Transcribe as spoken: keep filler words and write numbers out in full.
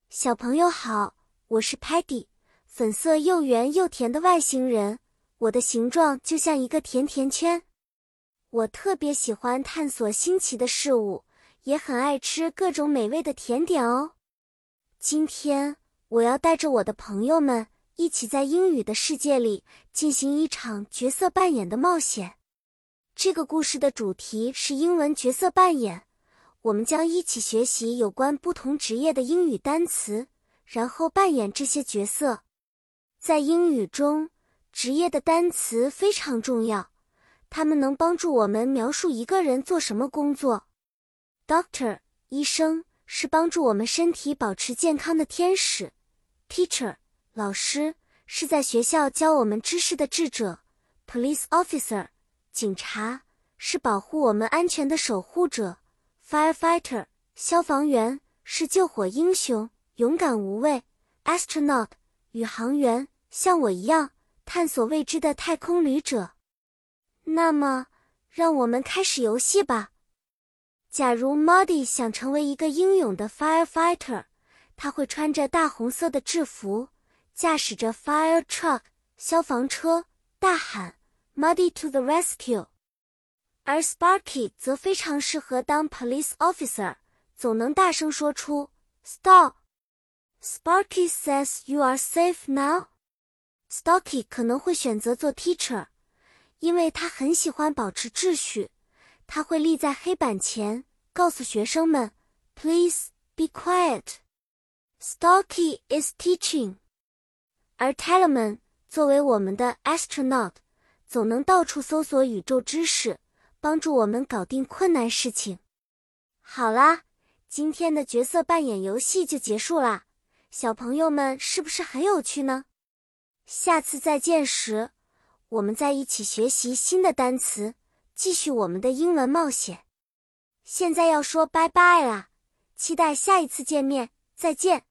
小朋友好，我是 Patty， 粉色又圆又甜的外星人，我的形状就像一个甜甜圈。我特别喜欢探索新奇的事物，也很爱吃各种美味的甜点哦。今天，我要带着我的朋友们一起在英语的世界里进行一场角色扮演的冒险。这个故事的主题是英文角色扮演。我们将一起学习有关不同职业的英语单词，然后扮演这些角色。在英语中，职业的单词非常重要，它们能帮助我们描述一个人做什么工作。Doctor， 医生，是帮助我们身体保持健康的天使。Teacher， 老师，是在学校教我们知识的智者。Police officer， 警察，是保护我们安全的守护者。Firefighter， 消防员，是救火英雄，勇敢无畏。Astronaut， 宇航员，像我一样，探索未知的太空旅者。那么，让我们开始游戏吧。假如 Muddy 想成为一个英勇的 Firefighter， 他会穿着大红色的制服，驾驶着 Fire Truck， 消防车，大喊 Muddy to the rescue。而 Sparky 则非常适合当 police officer， 总能大声说出 Stop。Sparky says you are safe now。Stalky 可能会选择做 teacher， 因为他很喜欢保持秩序，他会立在黑板前，告诉学生们 Please be quiet。Stalky is teaching。而 Talman 作为我们的 astronaut， 总能到处搜索宇宙知识，帮助我们搞定困难事情。好啦，今天的角色扮演游戏就结束啦，小朋友们是不是很有趣呢？下次再见时，我们再一起学习新的单词，继续我们的英文冒险。现在要说拜拜啦，期待下一次见面，再见。